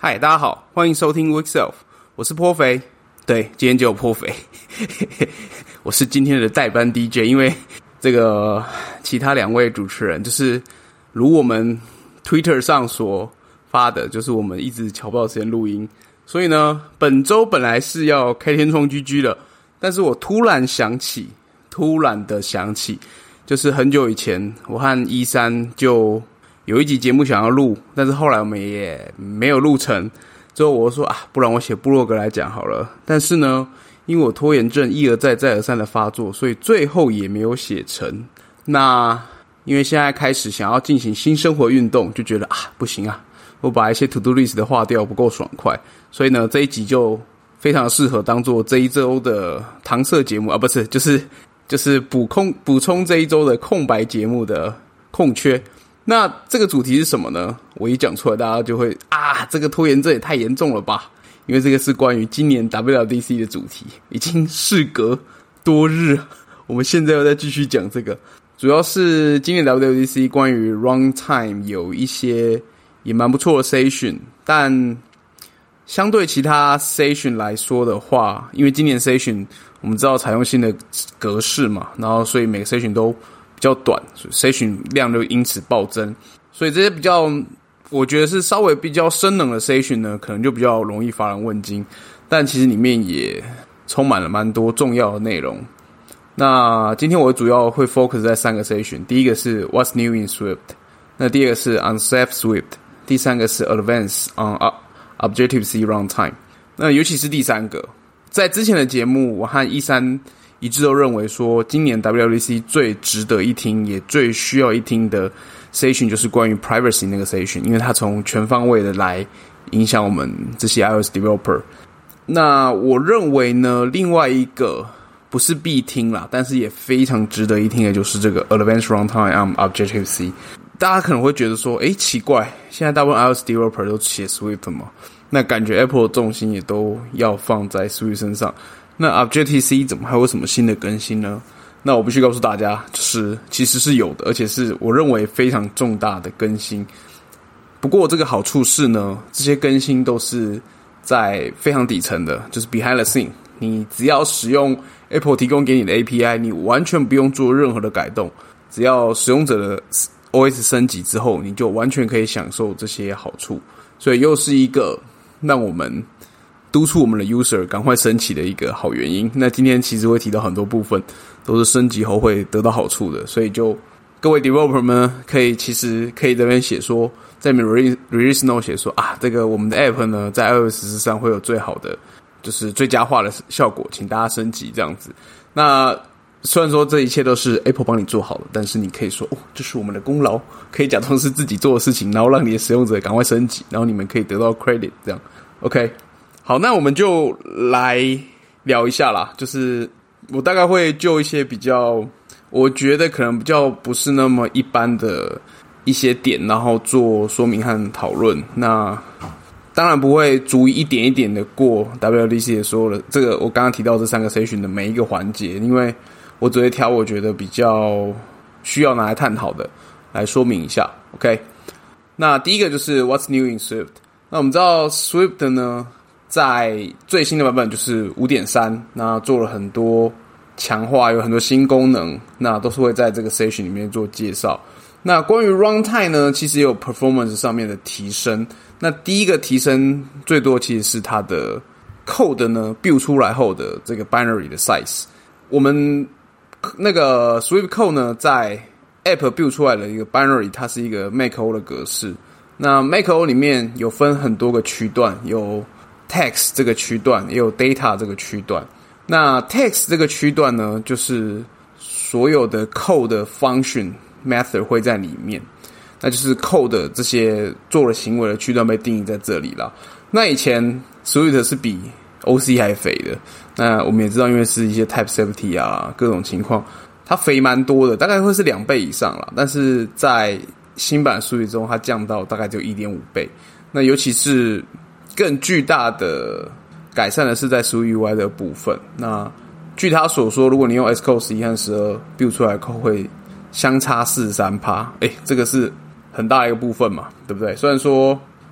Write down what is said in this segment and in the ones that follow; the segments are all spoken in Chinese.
嗨，大家好，欢迎收听 Weekself， 我是颇肥。对，今天就有颇肥，我是今天的代班 DJ， 因为这个其他两位主持人就是如我们 Twitter 上所发的，就是我们一直瞧不到时间录音，所以呢，本周本来是要开天窗 GG 的，但是我突然的想起，就是很久以前我和13就有一集节目想要录，但是后来我们也没有录成。之后我说不然我写部落格来讲好了。但是呢，因为我拖延症一而再再而三的发作，所以最后也没有写成。那因为现在开始想要进行新生活运动，就觉得不行我把一些 to do list 的划掉不够爽快，所以呢这一集就非常适合当做这一周的搪塞节目不是，就是补充这一周的空白节目的空缺。那这个主题是什么呢？我一讲出来，大家就会这个拖延症也太严重了吧？因为这个是关于今年 WWDC 的主题，已经事隔多日，我们现在要再继续讲这个。主要是今年 WWDC 关于 runtime 有一些也蛮不错的 session， 但相对其他 session 来说的话，因为今年 session 我们知道采用新的格式嘛，然后所以每个 session 都比较短，所以 session 量就因此暴增，所以这些比较我觉得是稍微比较生冷的 session 呢，可能就比较容易乏人问津，但其实里面也充满了蛮多重要的内容。那今天我主要会 focus 在3个 session， 第一个是 What's New in Swift， 那第二个是 On Safe Swift， 第三个是 Advanced on Objective-C Runtime。 那尤其是第三个，在之前的节目我和13一致都认为说，今年 WWDC 最值得一听也最需要一听的 session 就是关于 privacy 那个 session， 因为它从全方位的来影响我们这些 iOS developer。 那我认为呢，另外一个不是必听啦，但是也非常值得一听的就是这个 Advanced Runtime on Objective-C。 大家可能会觉得说奇怪，现在大部分 iOS developer 都写 Swift 嘛，那感觉 Apple 的重心也都要放在 Swift 身上，那 Objective-C 怎么还有什么新的更新呢？那我必须告诉大家，就是其实是有的，而且是我认为非常重大的更新。不过这个好处是呢，这些更新都是在非常底层的，就是 behind the scene， 你只要使用 Apple 提供给你的 API， 你完全不用做任何的改动，只要使用者的 OS 升级之后，你就完全可以享受这些好处。所以又是一个让我们督促我们的 user 赶快升级的一个好原因。那今天其实会提到很多部分都是升级后会得到好处的，所以就各位 developer 们其实可以在那边写说，在 release note 写说这个我们的 app 呢在 iOS 上会有最好的就是最佳化的效果，请大家升级这样子。那虽然说这一切都是 Apple 帮你做好了，但是你可以说这是我们的功劳，可以假装是自己做的事情，然后让你的使用者赶快升级，然后你们可以得到 credit 这样。 OK， 好，那我们就来聊一下啦，就是我大概会就一些比较我觉得可能比较不是那么一般的一些点，然后做说明和讨论。那当然不会逐一点一点的过 WWDC 的所有的这个我刚刚提到这3个 session 的每一个环节，因为我只会挑我觉得比较需要拿来探讨的来说明一下。 OK， 那第一个就是 What's New in Swift。 那我们知道 Swift 呢在最新的版本就是 5.3， 那做了很多强化，有很多新功能，那都是会在这个 session 里面做介绍。那关于 runtime 呢，其实也有 performance 上面的提升。那第一个提升最多其实是它的 code 呢 build 出来后的这个 binary 的 size。 我们那个 Swift code 呢在 app build 出来的一个 binary， 它是一个 macO 的格式。那 macO 里面有分很多个区段，有 text 这个区段，也有 data 这个区段。那 text 这个区段呢，就是所有的 code 的 function method 会在里面，那就是 code 的这些做了行为的区段被定义在这里啦。那以前 Swift 是比 OC 还肥的，那我们也知道，因为是一些 type safety 各种情况，它肥蛮多的，大概会是2倍以上啦。但是在新版 Swift 中，它降到大概就 1.5 倍。那尤其是更巨大的改善的是在 Swift UI 的部分。那据他所说，如果你用 Xcode 11和12 build 出来的 code 会相差 43%， 这个是很大一个部分嘛，对不对？虽然说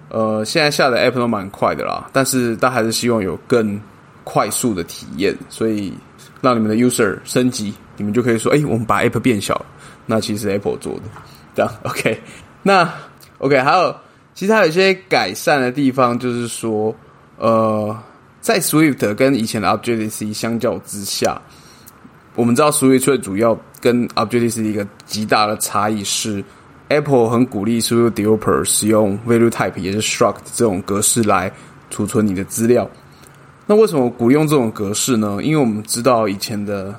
现在下的 App 都蛮快的啦，但是大家还是希望有更快速的体验，所以让你们的 user 升级，你们就可以说，我们把 App 变小了，那其实是 Apple 做的，这样 OK。那 OK， 其实还有一些改善的地方，就是说，在 Swift 跟以前的 Objective-C 相较之下，我们知道 Swift 最主要跟 Objective-C 一个极大的差异是 Apple 很鼓励 Swift Developer 使用 Value Type 也是 Struct 这种格式来储存你的资料。那为什么鼓励用这种格式呢？因为我们知道以前的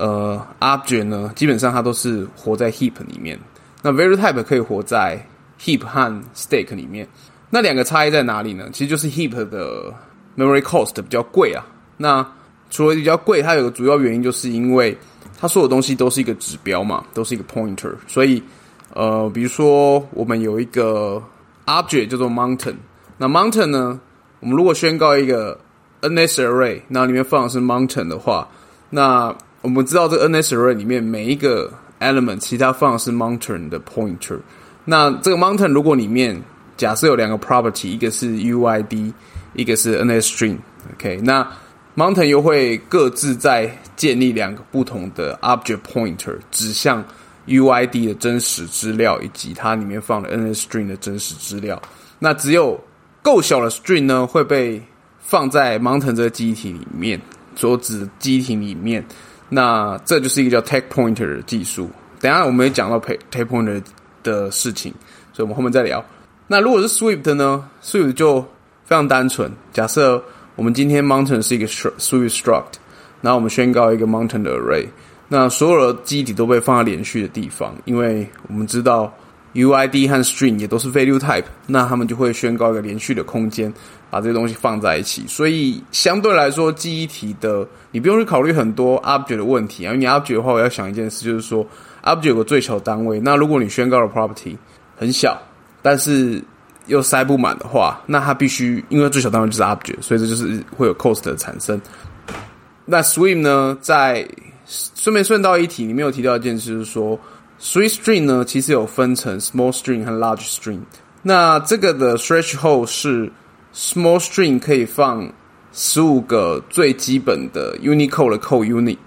Object 呢，基本上它都是活在 Heap 里面，那 Value Type 可以活在 Heap 和 Stack 里面。那两个差异在哪里呢？其实就是 Heap 的 Memory Cost 比较贵啊。那除了比较贵，它有个主要原因就是因为它所有东西都是一个指标嘛，都是一个 pointer， 所以比如说我们有一个 object 叫做 mountain， 那 mountain 呢，我们如果宣告一个 NS array， 那里面放的是 mountain 的话，那我们知道这个 NS array 里面每一个 element 其实它放的是 mountain 的 pointer， 那这个 mountain 如果里面假设有两个 property， 一个是 UID， 一个是 NS string， OK， 那 mountain 又会各自再建立两个不同的 object pointer 指向 UID 的真实资料以及它里面放的 NS string 的真实资料。那只有够小的 string 呢会被放在 mountain 这个记忆体里面，所指的记忆体里面。那这就是一个叫 take pointer 的技术。等一下我们会讲到 take pointer 的事情，所以我们后面再聊。那如果是 Swift 呢 ？Swift 就非常单纯。假设我们今天 mountain 是一个 Swift struct， 然后我们宣告一个 mountain 的 array， 那所有的记忆体都被放在连续的地方，因为我们知道 UID 和 string 也都是 value type， 那他们就会宣告一个连续的空间，把这些东西放在一起。所以相对来说，记忆体的你不用去考虑很多 object 的问题啊，因为你 object 的话，我要想一件事，就是说 object 有个最小单位，那如果你宣告的 property 很小，但是又塞不满的话，那它必须因为最小单位就是 object， 所以这就是会有 cost 的产生。那 Swift 呢，在顺道一提，里面有提到一件事，就是说 Swift string 呢其实有分成 small string 和 large string。那这个的 threshold 是 small string 可以放15个最基本的 Unicode 的 code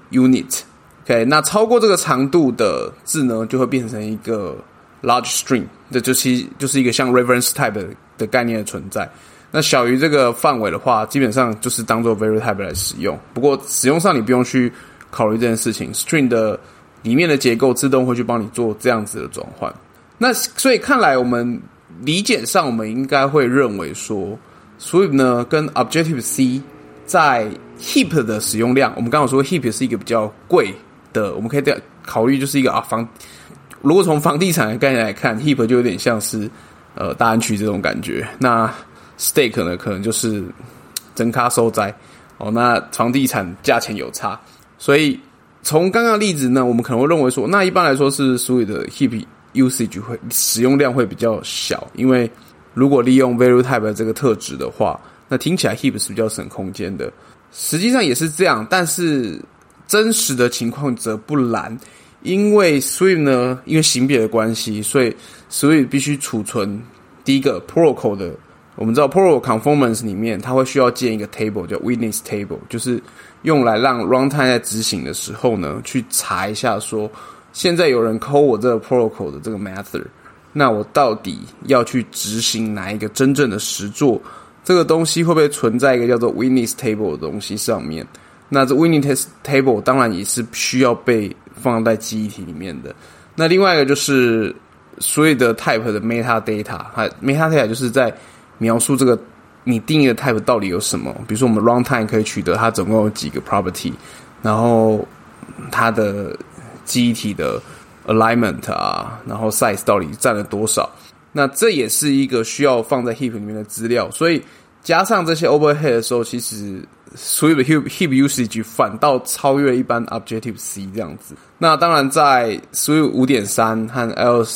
unit。OK， 那超过这个长度的字呢，就会变成一个large string， 这就是一个像 reference type 的概念的存在。那小于这个范围的话，基本上就是当做 value type 来使用。不过使用上你不用去考虑这件事情 ，string 的里面的结构自动会去帮你做这样子的转换。那所以看来我们理解上，我们应该会认为说 ，Swift 呢跟 Objective-C 在 Heap 的使用量，我们刚刚说 Heap 是一个比较贵的，我们可以考虑就是一个如果从房地产的概念来看 ，Heap 就有点像是大安区这种感觉。那 Stack 呢，可能就是真咖收栽哦。那房地产价钱有差，所以从刚刚的例子呢，我们可能会认为说，那一般来说是Swift的 Heap usage 会使用量会比较小，因为如果利用 value type 的这个特质的话，那听起来 Heap 是比较省空间的。实际上也是这样，但是真实的情况则不然。因为 Swift 呢，因为型别的关系，所以 Swift 必须储存第一个 protocol 的。我们知道 protocol conformance 里面，它会需要建一个 table 叫 witness table， 就是用来让 runtime 在执行的时候呢，去查一下说，现在有人 call 我这个 protocol 的这个 method， 那我到底要去执行哪一个真正的实作？这个东西会不会存在一个叫做 witness table 的东西上面？那这 witness table 当然也是需要被放在记忆体里面的。那另外一个就是所有的 type 的 metadata，metadata 就是在描述这个你定义的 type 到底有什么。比如说我们 runtime 可以取得它总共有几个 property， 然后它的记忆体的 alignment 啊，然后 size 到底占了多少。那这也是一个需要放在 heap 里面的资料，所以加上这些 overhead 的时候，其实Swift 的 heap usage 反倒超越一般 Objective-C 这样子。那当然在 Swift 5.3 和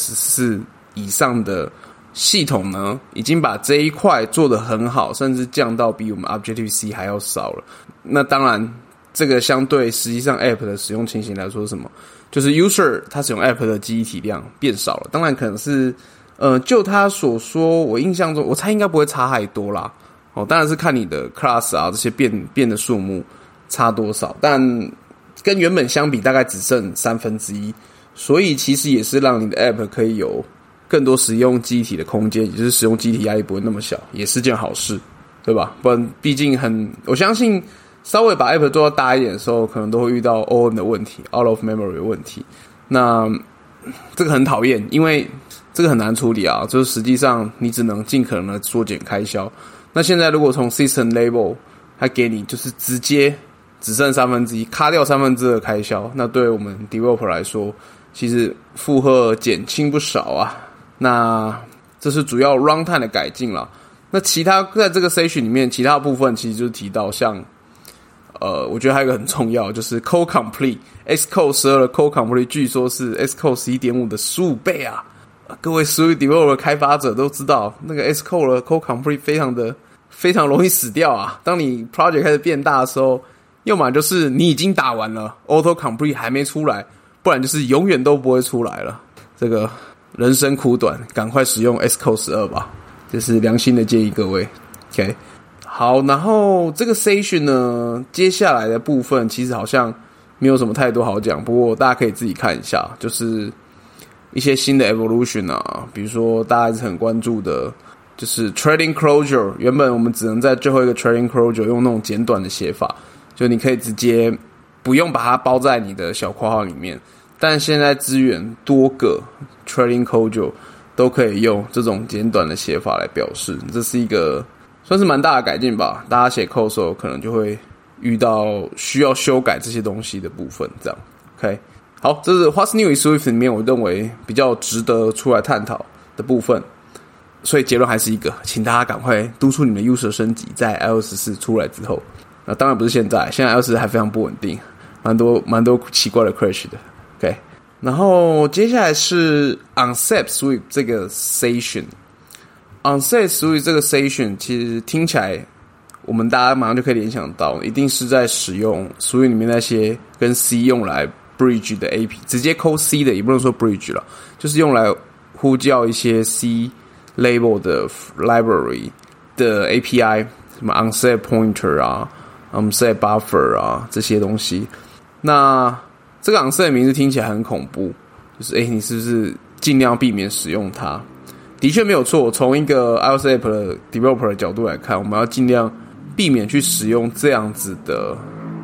L14 以上的系统呢，已经把这一块做得很好，甚至降到比我们 Objective-C 还要少了。那当然这个相对实际上 App 的使用情形来说是什么？就是 User 他使用 App 的记忆体量变少了，当然可能是就他所说，我印象中我猜应该不会差太多啦。当然是看你的 class 啊这些变的数目差多少，但跟原本相比大概只剩1/3，所以其实也是让你的 app 可以有更多使用记忆体的空间，也就是使用记忆体压力不会那么小，也是件好事，对吧？不然毕竟我相信稍微把 app 做到大一点的时候，可能都会遇到 OM 的问题 ，out of memory 的问题。那这个很讨厌，因为这个很难处理啊，就是实际上你只能尽可能的缩减开销。那现在如果从 system level 它给你就是直接只剩1/3，卡掉2/3的开销，那对我们 developer 来说，其实负荷减轻不少啊。那这是主要 runtime 的改进啦。那其他在这个 session 里面，其他部分其实就是提到像我觉得还有一个很重要，就是 code complete Xcode 12的 code complete 据说是 Xcode 11.5 的15倍啊。各位 Swift developer 开发者都知道，那个 Xcode 的 code complete 非常容易死掉啊。当你 project 开始变大的时候，要么就是你已经打完了 auto complete 还没出来，不然就是永远都不会出来了。这个人生苦短，赶快使用 Xcode 12吧，这是良心的建议各位。 OK， 好，然后这个 session 呢，接下来的部分其实好像没有什么太多好讲，不过大家可以自己看一下，就是一些新的 evolution 啊，比如说大家一直很关注的就是 threading closure， 原本我们只能在最后一个 threading closure 用那种简短的写法，就你可以直接不用把它包在你的小括号里面，但现在支援多个 threading closure 都可以用这种简短的写法来表示，这是一个算是蛮大的改进吧。大家写 code 的时候可能就会遇到需要修改这些东西的部分，这样 OK。好，这是 What's New in Swift 里面我认为比较值得出来探讨的部分，所以结论还是一个，请大家赶快督促你们的 user 升级，在 iOS 14出来之后，那当然不是现在 iOS 14还非常不稳定，蛮多奇怪的 crash 的 OK。 然后接下来是 Unset Swift 这个 session， Unset Swift 这个 session 其实听起来我们大家马上就可以联想到，一定是在使用 Swift 里面那些跟 C 用来bridge 的 AP， 直接抠 C 的，也不能说 bridge 了，就是用来呼叫一些 C label 的 library 的 API， 什么 unset pointer 啊 unset buffer 啊这些东西。那这个 unset 的名字听起来很恐怖，就是你是不是尽量避免使用它？的确没有错，从一个 iOS app 的 developer 的角度来看，我们要尽量避免去使用这样子的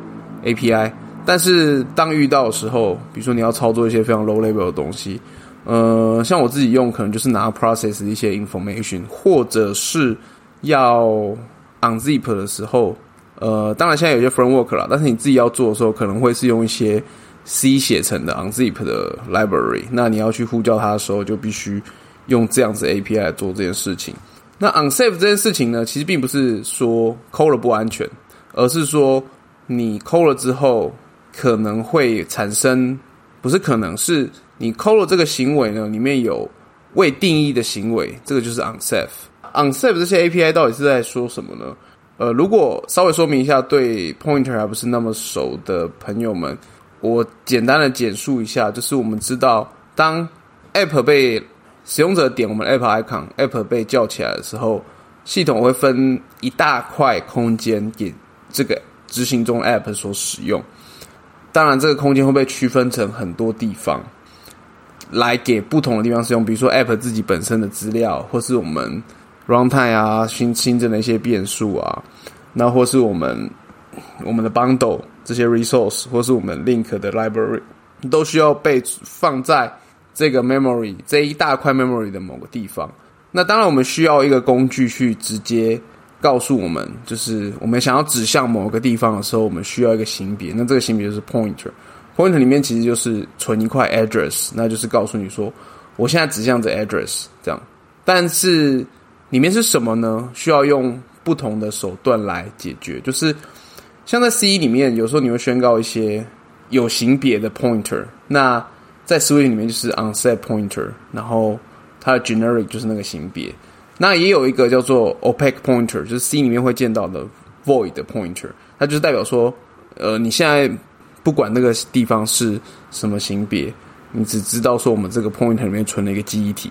API。但是当遇到的时候，比如说你要操作一些非常 low level 的东西，像我自己用可能就是拿 process 的一些 information， 或者是要 unzip 的时候，当然现在有些 framework 啦，但是你自己要做的时候，可能会是用一些 C 写成的 unzip 的 library， 那你要去呼叫它的时候，就必须用这样子 API 来做这件事情。那 unsafe 这件事情呢，其实并不是说 code 了不安全，而是说你 code 了之后可能会产生，不是可能，是你 code 了这个行为呢，里面有未定义的行为，这个就是 unsafe。unsafe 这些 API 到底是在说什么呢？如果稍微说明一下，对 pointer 还不是那么熟的朋友们，我简单的简述一下，就是我们知道，当 app 被使用者点我们 app icon，app 被叫起来的时候，系统会分一大块空间给这个执行中 app 所使用。当然这个空间会被区分成很多地方来给不同的地方使用，比如说 app 自己本身的资料，或是我们 runtime 啊新增的一些变数啊，那或是我们的 bundle 这些 resource， 或是我们 link 的 library， 都需要被放在这个 memory 这一大块 memory 的某个地方。那当然我们需要一个工具去直接告诉我们，就是我们想要指向某个地方的时候，我们需要一个型别，那这个型别就是 pointer 里面其实就是存一块 address， 那就是告诉你说我现在指向这 address 这样。但是里面是什么呢？需要用不同的手段来解决，就是像在 C 里面有时候你会宣告一些有型别的 pointer， 那在 Swift 里面就是 unset pointer， 然后它的 generic 就是那个型别。那也有一个叫做 opaque pointer， 就是 C 里面会见到的 void pointer， 它就是代表说你现在不管那个地方是什么型别，你只知道说我们这个 pointer 里面存了一个记忆体。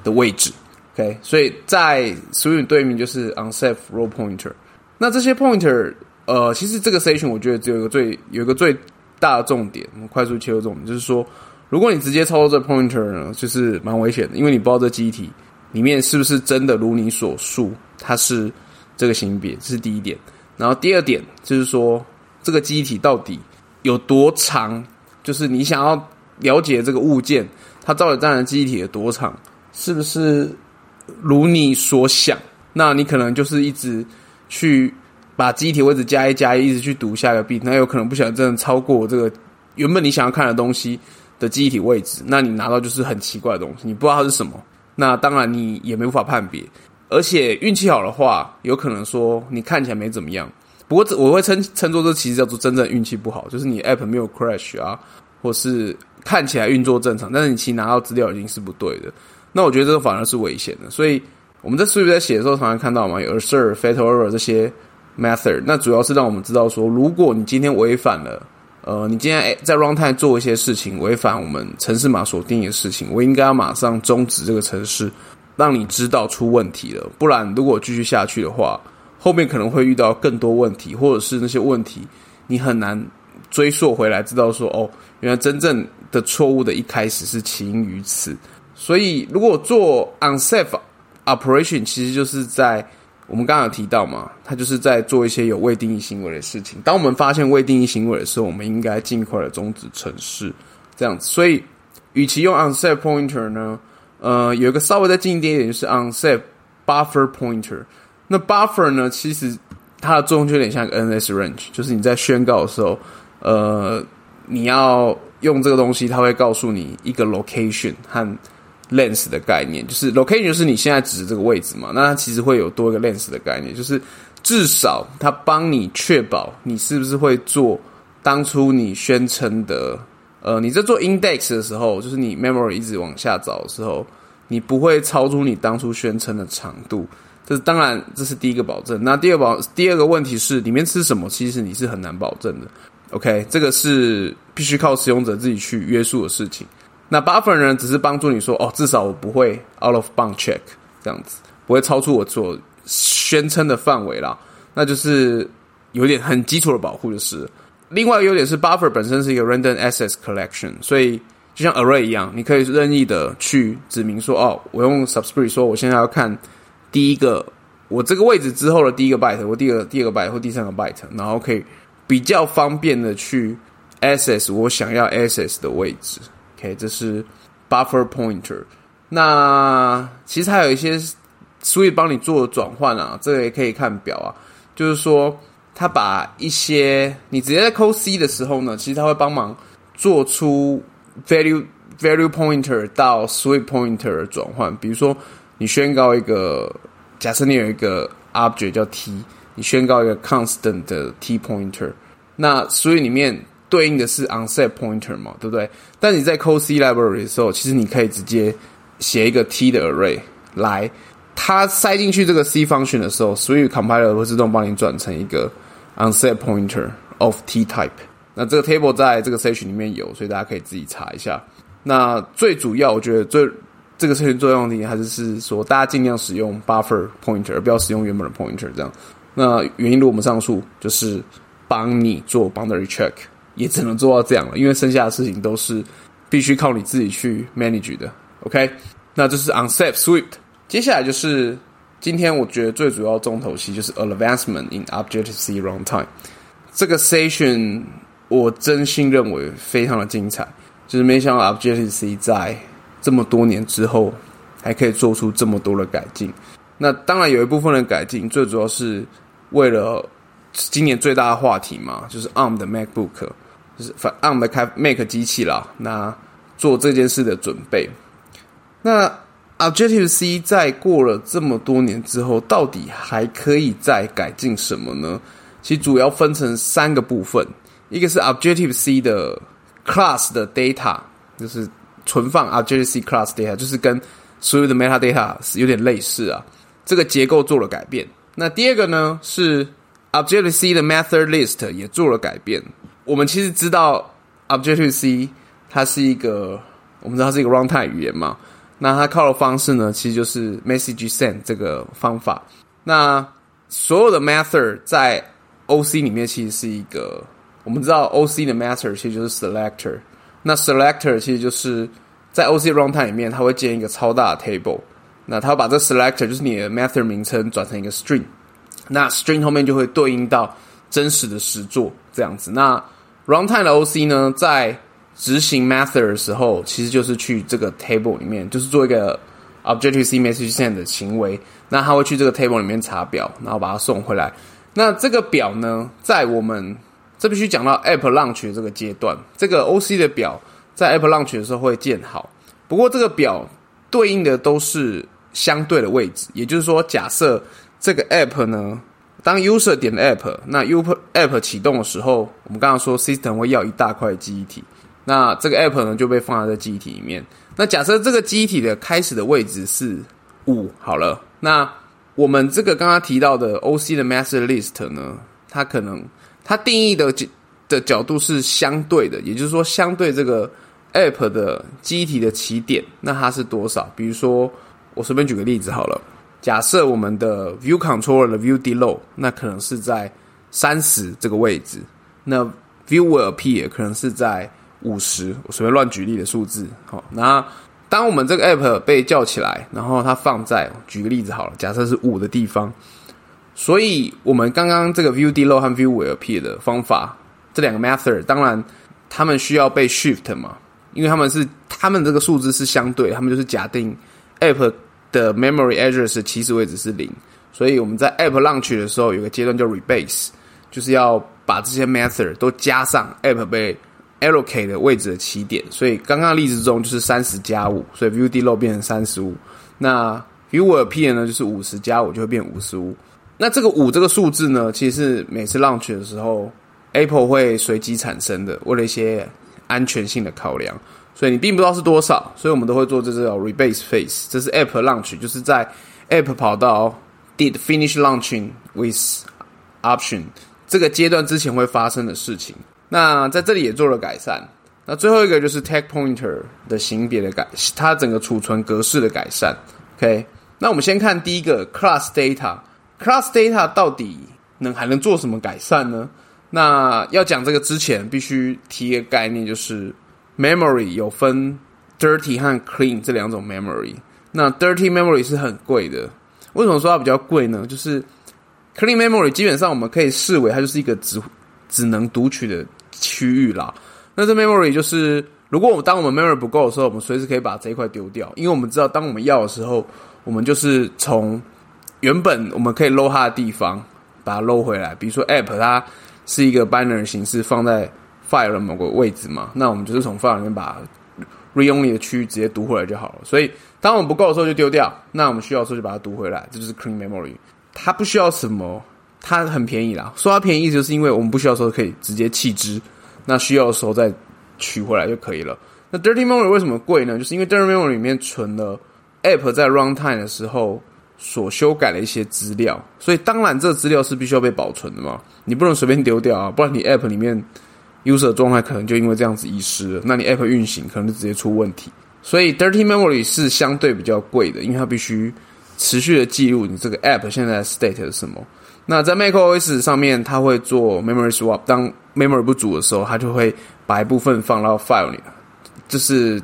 的位置。OK， 所以在 Swift 对面就是 unsafe row pointer。那这些 pointer，其实这个 session 我觉得只有一个最大的重点，我们快速切入重点，就是说，如果你直接操作这 pointer 呢，就是蛮危险的，因为你不知道这记忆体里面是不是真的如你所述，它是这个型别，这是第一点。然后第二点就是说，这个记忆体到底有多长，就是你想要了解这个物件，它到底占的记忆体有多长，是不是如你所想？那你可能就是一直去把记忆体位置加一，一直去读下一个 bit， 那有可能不小心真的超过这个原本你想要看的东西的记忆体位置，那你拿到就是很奇怪的东西，你不知道它是什么，那当然你也没法判别。而且运气好的话，有可能说你看起来没怎么样，不过我会称作这其实叫做真正运气不好，就是你 app 没有 crash 啊，或是看起来运作正常，但是你其实拿到资料已经是不对的。那我觉得这个反而是危险的，所以我们在 Swift 在写的时候常常看到嘛，有 assert、fatal error 这些 method， 那主要是让我们知道说，如果你今天违反了，你今天在 runtime 做一些事情，违反我们程式码所定义的事情，我应该要马上终止这个程式，让你知道出问题了，不然如果继续下去的话，后面可能会遇到更多问题，或者是那些问题你很难追溯回来，知道说哦，原来真正的错误的一开始是起因于此。所以如果做 unsafe operation， 其实就是在我们刚刚有提到嘛，它就是在做一些有未定义行为的事情。当我们发现未定义行为的时候，我们应该尽快的终止程式，这样子。所以与其用 unsafe pointer 呢，有一个稍微再进一点就是 unsafe buffer pointer。那 buffer 呢，其实它的作用就有点像一个 NS range， 就是你在宣告的时候，你要用这个东西，它会告诉你一个 location 和 length 的概念，就是 location 就是你现在指的这个位置嘛，那它其实会有多一个 length 的概念，就是至少它帮你确保你是不是会做当初你宣称的，你在做 index 的时候，就是你 memory 一直往下找的时候，你不会超出你当初宣称的长度。当然这是第一个保证。那第二个问题是里面吃什么，其实你是很难保证的。OK， 这个是必须靠使用者自己去约束的事情。那 buffer 呢，只是帮助你说，至少我不会 out of bound check 这样子，不会超出我所宣称的范围啦。那就是有点很基础的保护就是了。另外一个优点是 buffer 本身是一个 random access collection， 所以就像 array 一样，你可以任意的去指明说，我用 subscript 说我现在要看第一个我这个位置之后的第一个 byte， 或第二个 byte 或第三个 byte， 然后可以比较方便的去 access 我想要 access 的位置。OK， 这是 buffer pointer。那其实还有一些 Swift 帮你做的转换啊，这个也可以看表啊，就是说它把一些你直接在 code C 的时候呢，其实它会帮忙做出 value pointer 到 Swift pointer 的转换。比如说你宣告一个，假设你有一个 object 叫 t， 你宣告一个 constant 的 t pointer， 那所以里面对应的是 unset pointer 嘛，对不对？但你在 code C library 的时候，其实你可以直接写一个 t 的 array 来，它塞进去这个 C function 的时候，所以 compiler 会自动帮你转成一个 unset pointer of t type。那这个 table 在这个 section 里面有，所以大家可以自己查一下。那最主要，我觉得这个 section 作用的还是说，大家尽量使用 buffer pointer， 而不要使用原本的 pointer 这样。那原因如我们上述就是帮你做 boundary check， 也只能做到这样了，因为剩下的事情都是必须靠你自己去 manage 的。OK， 那这是 unsafe Swift。接下来就是今天我觉得最主要重头戏，就是 advancement in Objective-C runtime。这个 session 我真心认为非常的精彩，就是没想到 Objective-C 在这么多年之后还可以做出这么多的改进。那当然有一部分的改进最主要是为了今年最大的话题嘛，就是 ARM 的 MacBook， 就是 ARM 的Mac 机器啦，那做这件事的准备。那 Objective-C 在过了这么多年之后，到底还可以再改进什么呢？其实主要分成3个部分，一个是 Objective-C 的 class 的 data， 就是存放 Objective-C class data， 就是跟所有的 metadata 有点类似啊，这个结构做了改变。那第二个呢，是 Objective-C 的 method list 也做了改变。我们其实知道 Objective-C 它是一个，我们知道它是一个 runtime 语言嘛， 那它靠的方式呢，其实就是 message send 这个方法。那所有的 method 在 OC 里面其实是一个，我们知道 OC 的 method 其实就是 selector。那 selector 其实就是在 OC runtime 里面，它会建一个超大的 table。那它会把这 selector 就是你的 method 名称转成一个 string。那 string 后面就会对应到真实的实作这样子。那 runtime 的 OC 呢，在执行 method 的时候，其实就是去这个 table 里面，就是做一个 Objective-C message send 的行为。那它会去这个 table 里面查表，然后把它送回来。那这个表呢，在我们这必须讲到 App Launch 的这个阶段，这个 OC 的表在 App Launch 的时候会建好。不过这个表对应的都是相对的位置，也就是说，假设这个 App 呢，当 User 点 App， 那 App 启动的时候，我们刚刚说 System 会要一大块记忆体，那这个 App 呢就被放在这记忆体里面。那假设这个记忆体的开始的位置是5好了，那我们这个刚刚提到的 OC 的 Master List 呢，它定义的角度是相对的，也就是说相对这个 App 的记忆体的起点，那它是多少？比如说我随便举个例子好了，假设我们的 View Controller 的 View Deload 那可能是在30这个位置，那 View Will Appear 可能是在50，我随便乱举例的数字。好，那当我们这个 App 被叫起来，然后它放在举个例子好了，假设是5的地方，所以我们刚刚这个 View Deload 和 View Will Appear 的方法，这两个 method 当然他们需要被 shift 嘛，因为他们这个数字是相对，他们就是假定 App 的 memory address 的起始位置是0，所以我们在 App Launch 的时候有个阶段叫 rebase， 就是要把这些 method 都加上 App 被 allocate 的位置的起点。所以刚刚的例子中就是30加5，所以 View Deload 变成35，那 View Will Appear 呢就是50加5就会变55。那这个5这个数字呢，其实是每次 launch 的时候 Apple 会随机产生的，为了一些安全性的考量，所以你并不知道是多少，所以我们都会做这叫 rebase phase， 这是 App Launch， 就是在 App 跑到 did finish launching with option 这个阶段之前会发生的事情。那在这里也做了改善。那最后一个就是 tag pointer 的型别的它整个储存格式的改善。OK， 那我们先看第一个 class data。class data 到底还能做什么改善呢？那要讲这个之前，必须提一个概念，就是 memory 有分 dirty 和 clean 这两种 memory。那 dirty memory 是很贵的。为什么说它比较贵呢？就是 clean memory 基本上我们可以视为它就是一个只能读取的区域啦。那这 memory 就是如果当我们 memory 不够的时候，我们随时可以把这一块丢掉，因为我们知道当我们要的时候，我们就是从原本我们可以 load 它的地方把它 load 回来。比如说 app 它是一个 binary 形式放在 file 的某个位置嘛，那我们就是从 file 里面把 read only 的区域直接读回来就好了。所以当我们不够的时候就丢掉，那我们需要的时候就把它读回来，这就是 clean memory。 它不需要什么，它很便宜啦。说它便宜就是因为我们不需要的时候可以直接弃之，那需要的时候再取回来就可以了。那 dirty memory 为什么贵呢？就是因为 dirty memory 里面存了 app 在 runtime 的时候所修改的一些资料，所以当然这个资料是必须要被保存的嘛，你不能随便丢掉啊，不然你 app 里面 user 的状态可能就因为这样子遗失了，那你 app 运行可能就直接出问题。所以 dirty memory 是相对比较贵的，因为它必须持续的记录你这个 app 现在的 state 是什么。那在 macOS 上面它会做 memory swap， 当 memory 不足的时候，它就会把一部分放到 file 里，就是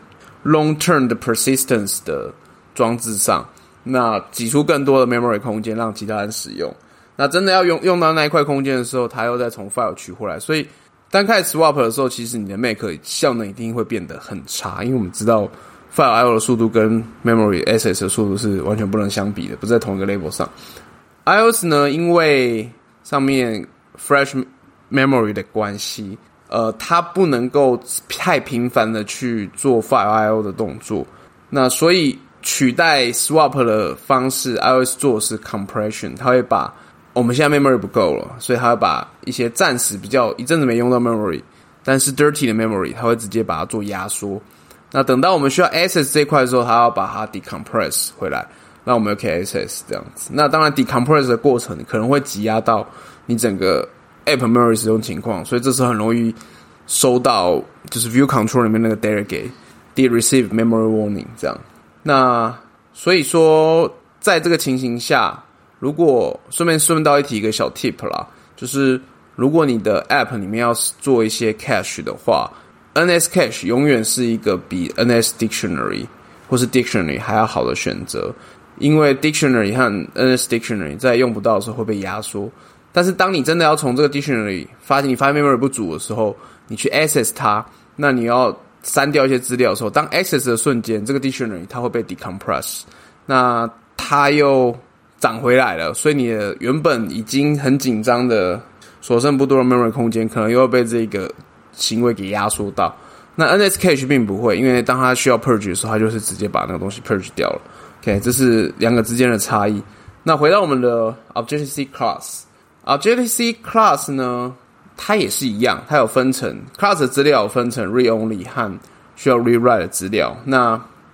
long term 的 persistence 的装置上，那挤出更多的 memory 空间让其他人使用。那真的要用到那一块空间的时候，它又再从 file 取回来。所以当开始 swap 的时候，其实你的 Mac 效能一定会变得很差，因为我们知道 file I/O 的速度跟 memory access 的速度是完全不能相比的，不在同一个 level 上。iOS 呢，因为上面 flash memory 的关系，它不能够太频繁的去做 file I/O 的动作，那所以取代 swap 的方式 iOS 做的是 compression， 它会把我们现在 memory 不够了，所以它会把一些暂时比较一阵子没用到 memory 但是 dirty 的 memory 它会直接把它做压缩，那等到我们需要 access 这一块的时候，它要把它 decompress 回来，那我们就可以 access 这样子。那当然 decompress 的过程可能会挤压到你整个 app memory 使用情况，所以这时候很容易收到就是 view control 里面那个 delegate did receive memory warning 这样。 那所以说，在这个情形下，如果顺道一提一个小 tip 啦，就是如果你的 app 里面要做一些 cache 的话， NS cache 永远是一个比 NS dictionary 或是 dictionary 还要好的选择，因为 dictionary 和 NS dictionary 在用不到的时候会被压缩，但是当你真的要从这个 dictionary 你发现 memory 不足的时候，你去 access 它，那你要删掉一些资料的时候，当 access 的瞬间，这个 dictionary 它会被 decompress， 那它又涨回来了，所以你的原本已经很紧张的所剩不多的 memory 空间，可能又要被这个行为给压缩到。那 NS cache 并不会，因为当它需要 purge 的时候，它就是直接把那个东西 purge 掉了。OK， 这是两个之间的差异。那回到我们的 Objective-C class，Objective-C class 呢，它也是一样，它有分成 class 的资料有分成 read only 和需要 rewrite 的资料。那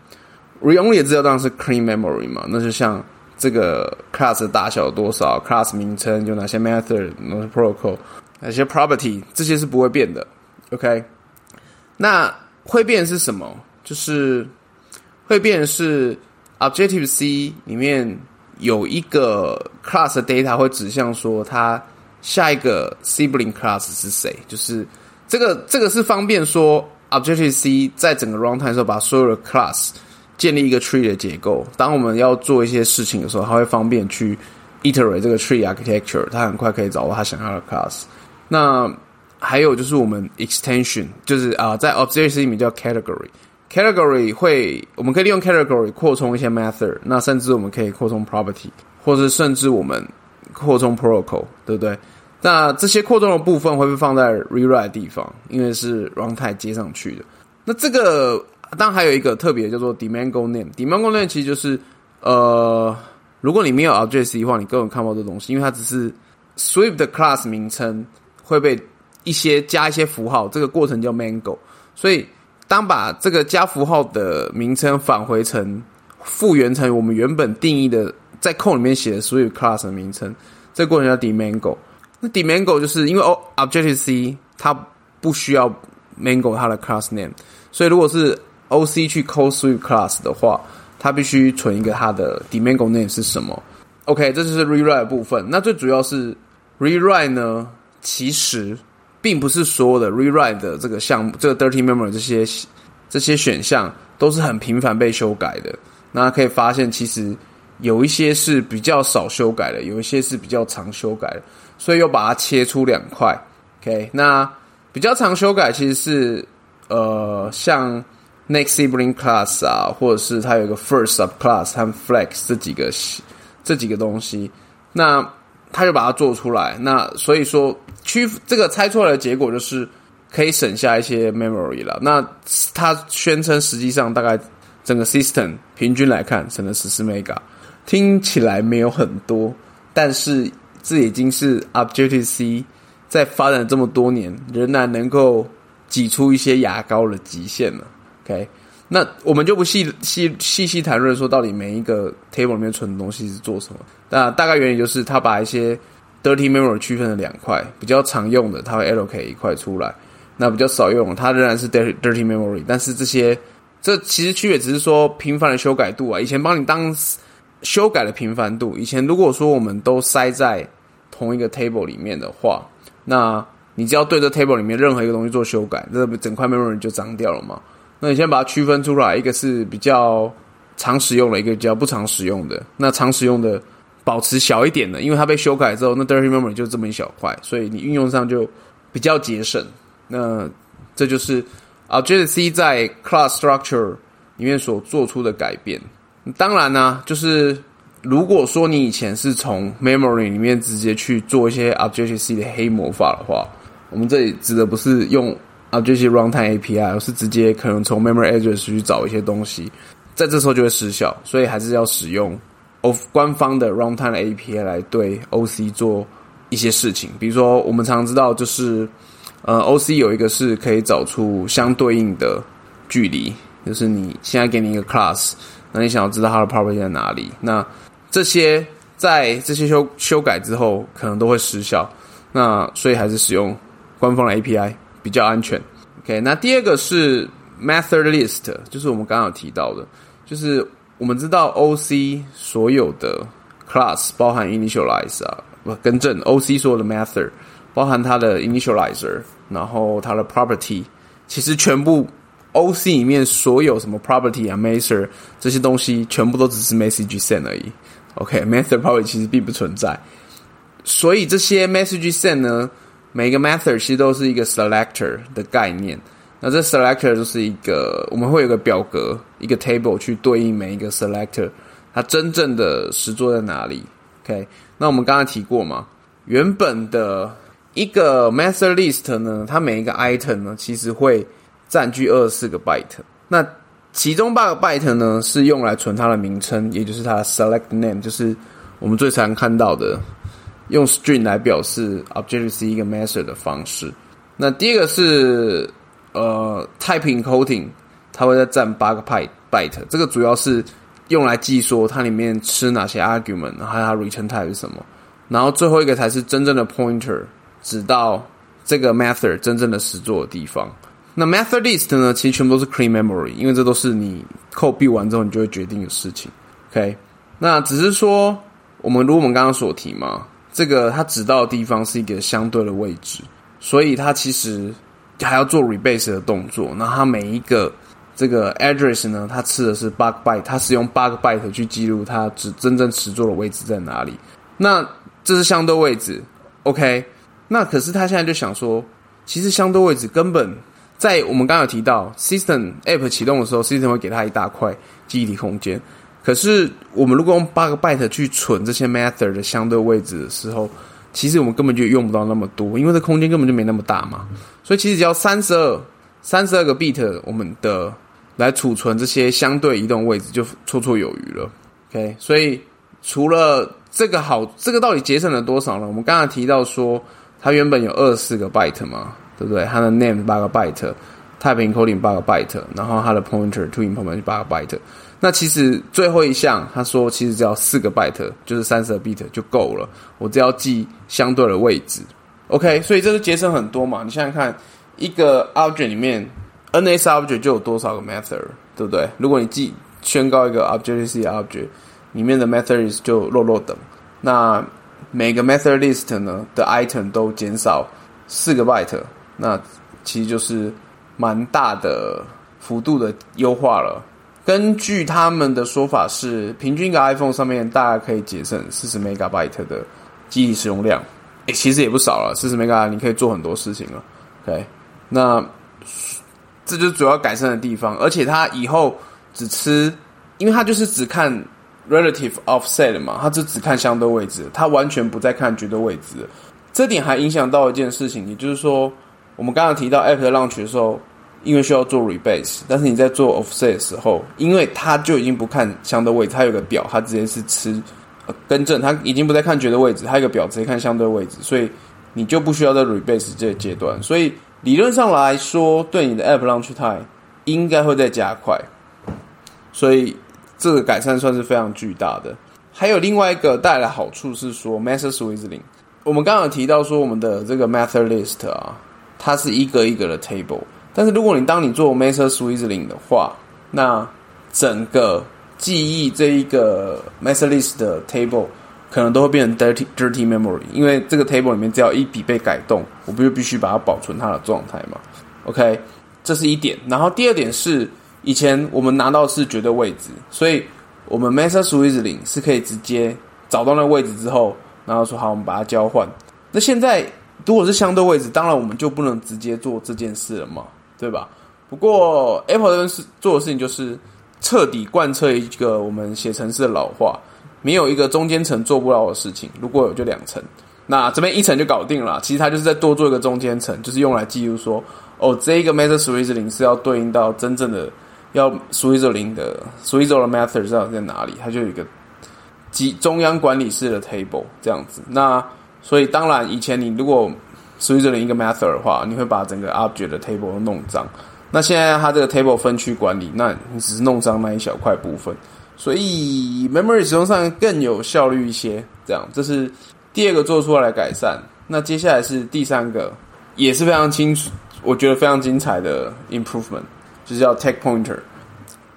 read only 的资料当然是 clean memory 嘛，那就像这个 class 的大小有多少 ，class 名称有哪些 method， 哪些 protocol， 哪些 property， 这些是不会变的。OK， 那会变的是什么？就是会变的是 Objective-C 里面有一个 class 的 data 会指向说它下一个 sibling class 是谁，就是这个是方便说 Objective-C 在整个 runtime 的时候把所有的 class 建立一个 tree 的结构，当我们要做一些事情的时候，它会方便去 iterate 这个 tree architecture， 它很快可以找到它想要的 class。那还有就是我们 extension， 就是在 Objective-C 里面叫 category 我们可以利用 category 扩充一些 method， 那甚至我们可以扩充 property， 或者甚至我们扩充 protocol， 对不对？那这些扩充的部分会被放在 rewrite 的地方，因为是 runtime 接上去的。那这个当然还有一个特别叫做 Demand-Go Name，Demand-Go Name 其实就是如果你没有 Objective-C 的话，你根本看不到这东西，因为它只是 Swift 的 class 名称会被加一些符号，这个过程叫 Mango， 所以当把这个加符号的名称复原成我们原本定义的在 code 里面写的 Swift class 的名称，这个过程叫 Demand-Go。那 Demand-Go 就是因为 Objective-C 它不需要 Mango 它的 class name， 所以如果是 OC 去 call Swift class 的话，它必须存一个它的 Demand-Go name 是什么。OK， 这就是 rewrite 的部分。那最主要是 rewrite 呢，其实并不是所有的 rewrite 的这个项目，这个 dirty memory 这些选项都是很频繁被修改的。那可以发现，其实有一些是比较少修改的，有一些是比较常修改的，所以又把它切出两块。OK， 那比较常修改其实是像 next sibling class 啊，或者是它有一个 first subclass 和 flex 这几个东西，那他就把它做出来。那所以说这个猜出来的结果就是可以省下一些 memory 了。那他宣称实际上大概整个 system 平均来看省了14 mega， 听起来没有很多，但是这已经是 Objective-C 在发展这么多年仍然能够挤出一些牙膏的极限了。OK， 那我们就不细谈论说到底每一个 table 里面存的东西是做什么。那大概原理就是他把一些 dirty memory 区分了两块，比较常用的他会 allocate 一块出来，那比较少用的它仍然是 dirty memory， 但是这其实区别只是说频繁的修改度啊。以前帮你当修改的频繁度，以前如果说我们都塞在同一个 table 里面的话，那你只要对这 table 里面任何一个东西做修改，这整块 memory 就脏掉了嘛。那你先把它区分出来，一个是比较常使用的，一个比较不常使用的。那常使用的保持小一点的，因为它被修改之后，那 dirty memory 就这么一小块，所以你运用上就比较节省。那这就是 Objective-C 在 class structure 里面所做出的改变。当然呢，就是如果说你以前是从 memory 里面直接去做一些 Objective-C 的黑魔法的话，我们这里指的不是用 Objective Runtime API， 而是直接可能从 memory address 去找一些东西，在这时候就会失效，所以还是要使用官方的 Runtime API 来对 OC 做一些事情。比如说我们常知道就是OC 有一个是可以找出相对应的距离，就是你现在给你一个 class， 那你想要知道它的 property 在哪里，那这些在这些修改之后可能都会失效，那所以还是使用官方的 API 比较安全。OK， 那第二个是 method list， 就是我们刚刚有提到的， 就是我们知道 OC 所有的 class 包含 initialize 更正 OC 所有的 method 包含它的 initializer， 然后它的 property， 其实全部 OC 里面所有什么 property method 这些东西全部都只是 message send 而已。OK，method property 其实并不存在，所以这些 message send 呢，每个 method 其实都是一个 selector 的概念。那这 selector 就是一个，我们会有个表格，一个 table 去对应每一个 selector 它真正的实作在哪里。OK， 那我们刚才提过嘛，原本的一个 method list 呢，它每一个 item 呢，其实会占据24个 byte。那其中8个 byte 呢，是用来存它的名称，也就是它的 select name， 就是我们最常看到的用 string 来表示 Objective-C 一个 method 的方式。那第二个是type encoding， 它会再占8个 byte， 这个主要是用来记说它里面吃哪些 argument， 然后它 return type 是什么。然后最后一个才是真正的 pointer， 指到这个 method 真正的实作的地方。那 method list 呢，其实全部都是 clean memory， 因为这都是你 code build 完之后你就会决定的事情。OK， 那只是说如果我们刚刚所提嘛，这个它指到的地方是一个相对的位置，所以它其实还要做 rebase 的动作。那它每一个这个 address 呢，它吃的是8个 byte， 它使用8个 byte 去记录它真正实作的位置在哪里。那这是相对位置 OK， 那可是他现在就想说，其实相对位置根本在我们刚刚有提到 system app 启动的时候 system 会给它一大块记忆体空间，可是我们如果用8个 byte 去存这些 method 的相对位置的时候，其实我们根本就用不到那么多，因为这空间根本就没那么大嘛。所以其实只要32个 bit 我们的来储存这些相对移动位置就绰绰有余了。OK， 所以除了这个到底节省了多少呢？我们刚才提到说它原本有24个 byte 嘛，对不对？它的 name 8个 byte，type encoding 8个 byte， 然后它的 pointer to information 8个 byte。那其实最后一项他说其实只要4个 byte， 就是32 bit 就够了，我只要记相对的位置。OK， 所以这个节省很多嘛。你想想看，一个 object 里面 NS object 就有多少个 method， 对不对？如果你宣告一个 Objective-C object， 里面的 method list 就落等，那每个 method list 呢的 item 都减少4个 byte， 那其实就是蛮大的幅度的优化了。根据他们的说法是，平均一个 iPhone 上面大概可以节省40 MB 的记忆使用量，其实也不少了，40 MB 你可以做很多事情了。OK， 那这就是主要改善的地方，而且它以后因为它就是只看 relative offset 嘛，它只看相对位置，它完全不再看绝对位置。这点还影响到一件事情，也就是说，我们刚刚提到 App 的 launch 的时候，因为需要做 rebase， 但是你在做 offset 的时候，因为它就已经不看相对位置，它有个表，它直接是更正，它已经不再看绝对位置，它有个表直接看相对位置，所以你就不需要在 rebase 这个阶段。所以理论上来说，对你的 App launch time 应该会再加快，所以这个改善算是非常巨大的。还有另外一个带来的好处是说 method swizzling。我们刚刚有提到说我们的这个 method list 它是一个一个的 table， 但是如果当你做 method swizzling 的话，那整个记忆这一个 method list 的 table 可能都会变成 dirty memory， 因为这个 table 里面只要一笔被改动，我就必须把它保存它的状态嘛。OK， 这是一点。然后第二点是，以前我们拿到的是绝对位置，所以我们 method swizzling 是可以直接找到那个位置之后，然后说好，我们把它交换。那现在如果是相对位置，当然我们就不能直接做这件事了嘛，对吧？不过 Apple 这边做的事情就是彻底贯彻一个我们写程式的老话，没有一个中间层做不到的事情，如果有就2层。那这边1层就搞定了，其实它就是再多做一个中间层，就是用来记录说，这一个 method swizzling 是要对应到真正的要 swizzle 的 method 在哪里，它就有一个中央管理室的 table 这样子。那所以当然以前你如果 swizzle 一个 method 的话，你会把整个 object 的 table 都弄脏。那现在它这个 table 分区管理，那你只是弄脏那一小块部分，所以 memory 使用上更有效率一些。这样，这是第二个做出来的改善。那接下来是第3个，也是非常我觉得非常精彩的 improvement， 就是叫 take pointer。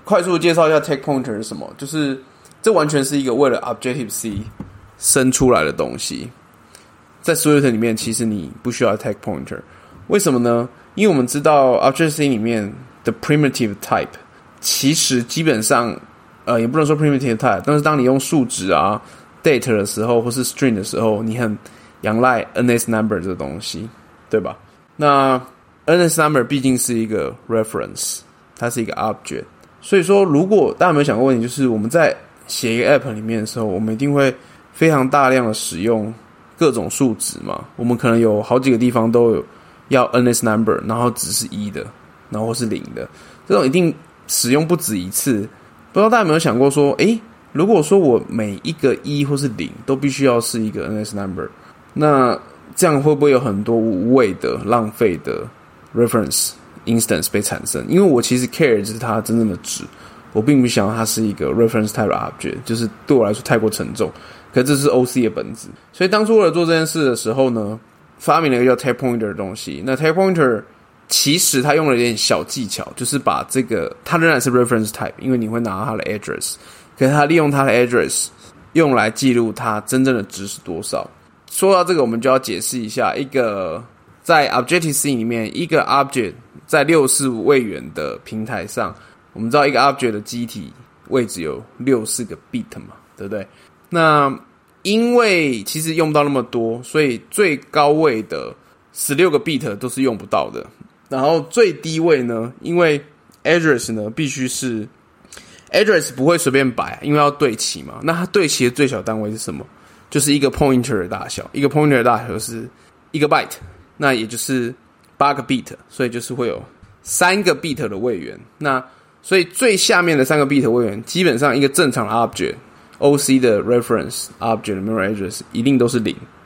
快速介绍一下 take pointer 是什么，就是这完全是一个为了 Objective C 生出来的东西。在 Swift 里面，其实你不需要 take pointer， 为什么呢？因为我们知道 Objective C 里面的 primitive type， 其实基本上也不能说 primitive type， 但是当你用数值啊 date 的时候，或是 string 的时候，你很仰赖 NS number 这个东西，对吧？那 NS number 毕竟是一个 reference， 它是一个 object， 所以说如果大家有没有想过问题，就是我们在写一个 app 里面的时候，我们一定会非常大量的使用各种数值嘛，我们可能有好几个地方都有要 NS number， 然后只是1的，然后或是0的，这种一定使用不止一次。不知道大家有没有想过说，如果说我每一个1或是0都必须要是一个 NS number， 那这样会不会有很多无谓的浪费的 reference instance 被产生？因为我其实 care 就是它真正的值，我并不想要它是一个 reference type object， 就是对我来说太过沉重。可是这是 OC 的本质，所以当初为了做这件事的时候呢，发明了一个叫 take pointer 的东西。那 take pointer 其实它用了一点小技巧，就是把这个它仍然是 reference type， 因为你会拿到它的 address， 可是它利用它的 address 用来记录它真正的值是多少。说到这个，我们就要解释一下，一个在 Objective-C 里面，一个 object 在64位元的平台上，我们知道一个 object 的基体位置有64个 bit 嘛，对不对？那因为其实用不到那么多，所以最高位的16个 bit 都是用不到的。然后最低位呢，因为 address 呢必须是 address 不会随便摆，因为要对齐嘛。那它对齐的最小单位是什么？就是一个 pointer 的大小，一个 pointer 的大小是1个 byte， 那也就是8个 bit， 所以就是会有3个 bit 的位元。那所以最下面的3个 bit 的位元，基本上一个正常的 object OC 的 reference object 的 memory address 一定都是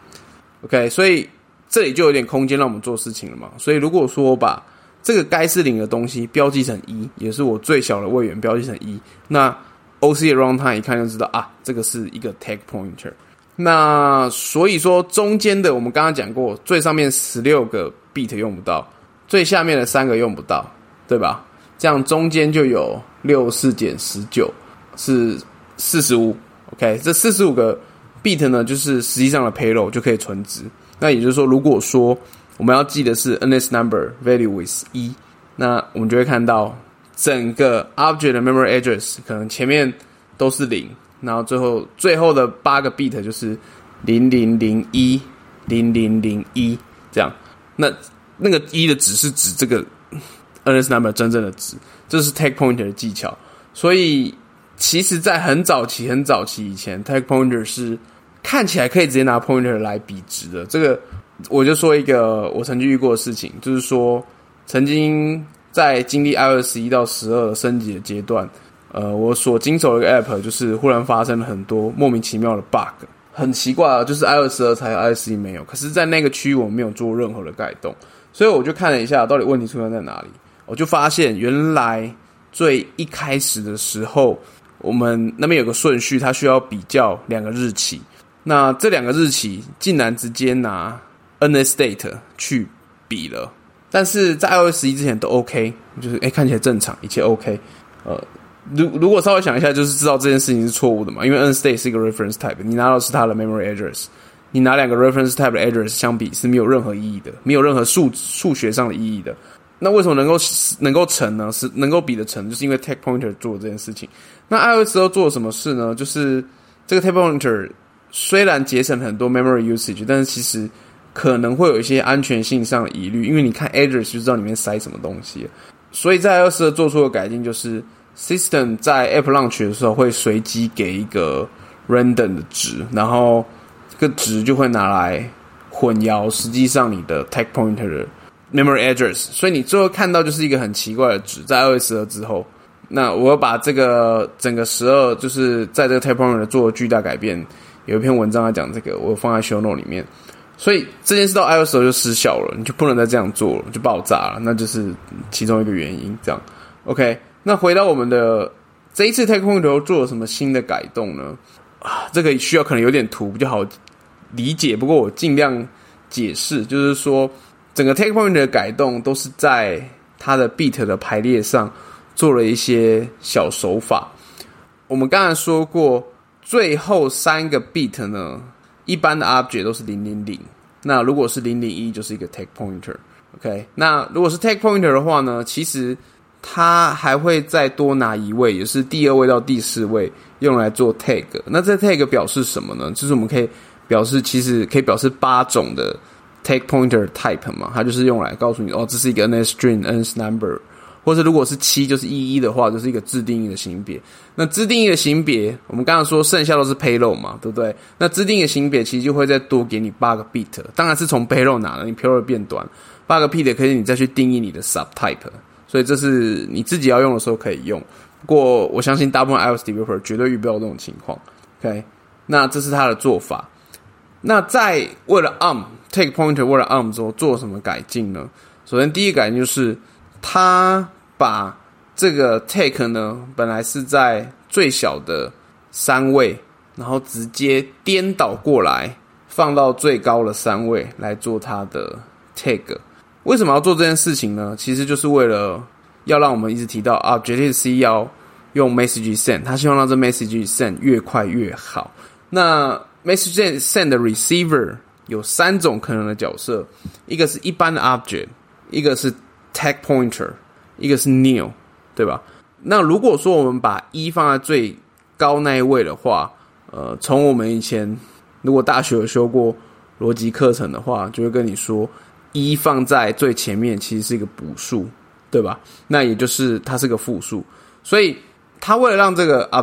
0。OK， 所以这里就有点空间让我们做事情了嘛。所以如果说我把这个该是0的东西标记成1，也是我最小的位元标记成1，那 OC 的 runtime 一看就知道啊，这个是一个 take pointer。那所以说中间的我们刚刚讲过，最上面16个 bit 用不到，最下面的3个用不到，对吧？这样中间就有64减19是45。OK， 这45个 bit 呢，就是实际上的 payload 就可以存值。那也就是说，如果说我们要记的是 NS number value with 1，那我们就会看到整个 object 的 memory address 可能前面都是0。然后最后的8个 bit 就是0001 0001这样。那个1的值是指这个 NS number 真正的值，这是 take pointer 的技巧。所以其实在很早期以前 take pointer 是看起来可以直接拿 pointer 来比值的。这个我就说一个我曾经遇过的事情，就是说曾经在经历 iOS 11到12升级的阶段，我所经手的一个 app 就是忽然发生了很多莫名其妙的 bug， 很奇怪啊，就是 iOS 12才有 iOS 11没有，可是在那个区域我没有做任何的改动，所以我就看了一下到底问题出现在哪里，我就发现原来最一开始的时候我们那边有个顺序，它需要比较2个日期，那这2个日期竟然直接拿 NSDate 去比了，但是在 iOS 11之前都 OK， 就是看起来正常，一切 OK。如果稍微想一下，就是知道这件事情是错误的嘛，因为 NSDate 是一个 reference type， 你拿到的是它的 memory address， 你拿2个 reference type 的 address 相比是没有任何意义的，没有任何数学上的意义的。那为什么能够成呢？是能够比得成，就是因为 take pointer 做这件事情。那 iOS 12做了什么事呢？就是这个 take pointer 虽然节省很多 memory usage， 但是其实可能会有一些安全性上的疑虑，因为你看 address 就知道里面塞什么东西了。所以在 iOS 12做出的改进就是 system 在 app launch 的时候会随机给一个 random 的值，然后这个值就会拿来混淆实际上你的 take pointer 的 memory address， 所以你最后看到就是一个很奇怪的值。在 iOS 12之后，那我要把这个整个12就是在这个 take pointer 做了巨大改变，有一篇文章来讲这个，我放在 show note 里面。所以这件事到 iOS 12就失效了，你就不能再这样做了，就爆炸了，那就是其中一个原因。这样 OK， 那回到我们的这一次 take pointer 做了什么新的改动呢？这个需要可能有点图比较好理解，不过我尽量解释，就是说整个 take pointer 的改动都是在它的 bit 的排列上做了一些小手法。我们刚才说过，最后3个 bit 呢，一般的 object 都是000，那如果是001就是一个 tag pointer。OK， 那如果是 tag pointer 的话呢，其实它还会再多拿一位，也是第2位到第4位，用来做 tag。那这 tag 表示什么呢？就是我们可以表示，其实可以表示8种的 tag pointer type 嘛，它就是用来告诉你，这是一个 NS string、NS number， 或者如果是7就是11的话，就是一个自定义的型别。那自定义的型别，我们刚刚说剩下都是 payload 嘛，对不对？那自定义的型别其实就会再多给你8个 bit， 当然是从 payload 拿的，你 payload 变短，8个 bit 可以你再去定义你的 subtype， 所以这是你自己要用的时候可以用。不过我相信大部分 iOS developer 绝对遇不到这种情况。OK， 那这是他的做法。那在为了 take pointer 为了 之后做什么改进呢？首先第一个改进就是他把这个 take 呢本来是在最小的3位，然后直接颠倒过来放到最高的3位来做它的 tag。 为什么要做这件事情呢？其实就是为了要让我们一直提到 Objective-C 要用 message send， 他希望让这 message send 越快越好。那 message send 的 receiver 有3种可能的角色，一个是一般的 object， 一个是 tag pointer， 一个是 nil， 对吧？那如果说我们把1放在最高那一位的话，从我们以前如果大学有修过逻辑课程的话，就会跟你说1放在最前面其实是一个补数，对吧？那也就是它是个复数，所以它为了让这个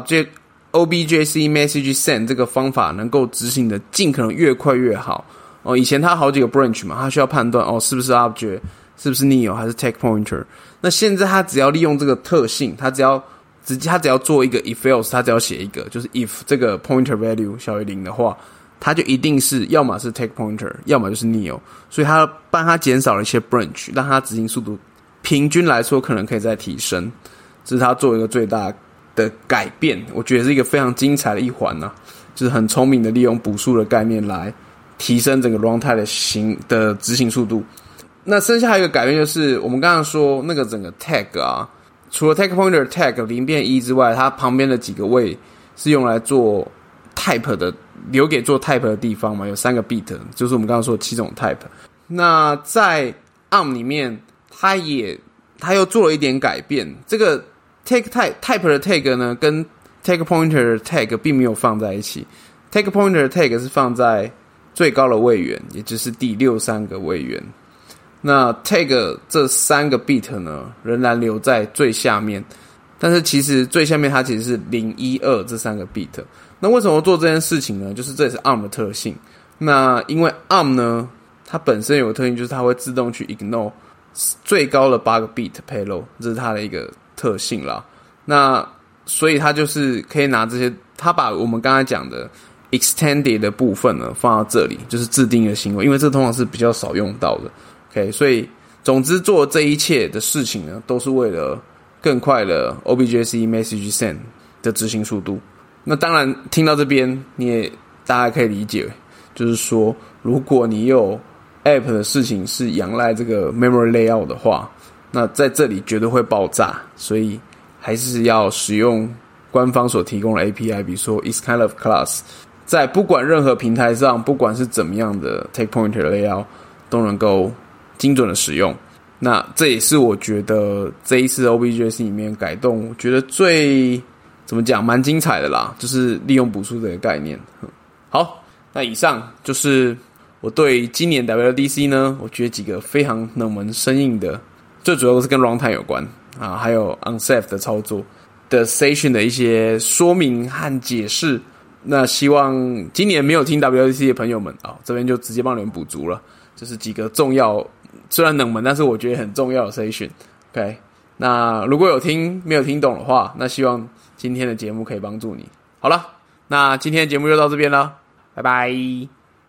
objc message send 这个方法能够执行的尽可能越快越好。以前它好几个 branch 嘛，它需要判断是不是 object， 是不是 nil 还是 tag pointer。那现在它只要利用这个特性，它只要做一个 if else， 它只要写一个，就是 if 这个 pointer value 小于0的话，它就一定是要么是 tag pointer， 要么就是 nil。所以它帮它减少了一些 branch， 让它执行速度平均来说可能可以再提升。这是它做一个最大的改变，我觉得是一个非常精彩的一环啊，就是很聪明的利用补数的概念来提升整个 runtime 的执行速度。那剩下一个改变就是我们刚刚说那个整个 tag 啊，除了 tag pointer tag 0变1之外，它旁边的几个位是用来做 type 的，留给做 type 的地方嘛，有3个 bit， 就是我们刚刚说的7种 type。那在 ARM 里面它又做了一点改变，这个 type 的 tag 呢跟 tag pointer 的 tag 并没有放在一起， tag pointer 的 tag 是放在最高的位元，也就是第63个位元。那 tag 这3个 bit 呢仍然留在最下面，但是其实最下面它其实是0、1、2这3个 bit。 那为什么做这件事情呢？就是这也是 ARM 的特性。那因为 ARM 呢它本身有个特性，就是它会自动去 ignore 最高的8个 bit payload， 这是它的一个特性啦。那所以它就是可以拿这些，它把我们刚才讲的 extended 的部分呢放到这里，就是自定义的行为，因为这通常是比较少用到的。OK， 所以总之做这一切的事情呢，都是为了更快的 objc message send 的执行速度。那当然听到这边大家可以理解，就是说如果你有 app 的事情是仰赖这个 memory layout 的话，那在这里绝对会爆炸，所以还是要使用官方所提供的 API， 比如说 isKindofClass， 在不管任何平台上，不管是怎么样的 take pointer layout 都能够精准的使用。那这也是我觉得这一次 OBJC 里面改动，我觉得最怎么讲蛮精彩的啦，就是利用补数这个概念。好，那以上就是我对今年 WWDC 呢，我觉得几个非常冷门生硬的，最主要都是跟 runtime 有关啊，还有 unsafe 的操作的 session 的一些说明和解释。那希望今年没有听 WWDC 的朋友们这边就直接帮你们补足了，就是几个重要，虽然冷门，但是我觉得很重要的 session。 OK， 那如果有听没有听懂的话，那希望今天的节目可以帮助你。好了，那今天的节目就到这边了，拜拜。